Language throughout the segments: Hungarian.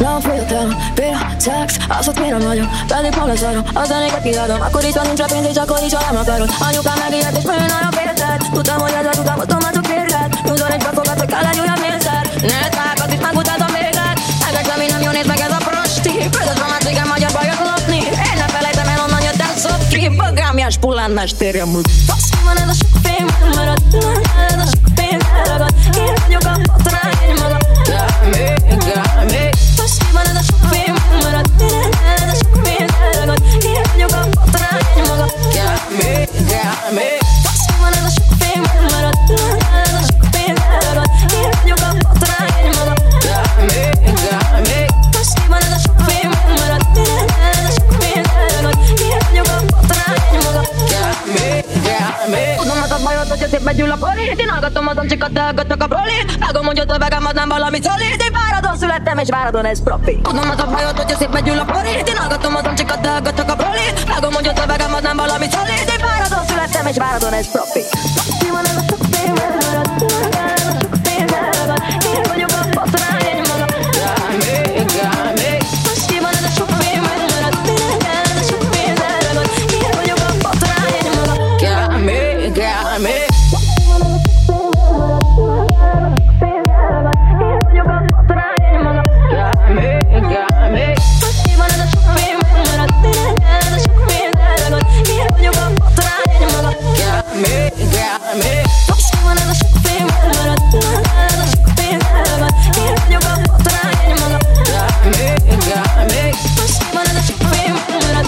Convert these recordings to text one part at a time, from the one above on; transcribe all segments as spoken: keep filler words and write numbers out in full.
Nem féltem, fél szex, azt ott mire vagyok, pedig hol lesz arra, a zenéket kiadom. Akkor is, ha nincs pénz, és akkor is, ha nem akarod. Anyukám megijedt, és főn arra féltett. Tudtam, hogy ezzel után automatok férget. Nyújtól egy befogad, hogy kell egy újabb mélszer. Ne tákat, itt megutáltam véget. Ezek, ami nem jól néz meg, ez a prosti. Között van már cégem, magyar bajok lopni. Én nem felejtem el, onnan jött el szopki. Bagámjás pullán, mestérjem múlt. Fasz ki van ez a sok fém, marad. Ez a sok fém, elragad. Én vagyok a botrány, egy maga. Gámi, gámi. Fasz ki van ez a sok fém, marad. Ez a sok fém, elragad. Én vagyok a botrány, egy maga. Gámi, gámi. Fasz ki van ez a sok fém, marad. Ez a sok fém, elragad. Én vagyok a botrány, egy maga. Gámi, gámi. Fasz ki van ez a sok fém, marad. Ez a sok fém, elragad. Én vagyok a botrány, egy maga. Gámi, gámi. Tudom az a bajod, hogy szép begyűl a polit. Én hallgatom az amcsikat, de hallgatok a prolit. Vágom, hogy ott a vegám, az nem valami szolid. Én váradon születtem, és váradon ez profi. Tudom az a bajod, hogy szép begyűl a polit. Én hallgatom az amcsikat, de hallgatok a prolit. Vágom, hogy ott a vegám, az nem valami szolid. Én váradon születtem, és váradon ez profi. Mi van ez a sok fém, elragad. Ez a sok fém, elragad. Én vagyok a botrány, egy maga. Gámi, gámi. Mi van ez a sok fém, elragad. Ez a sok fém, elragad. Én vagyok a botrány, egy maga. Gámi, gámi.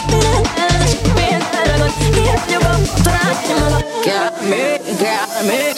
Got me, got me.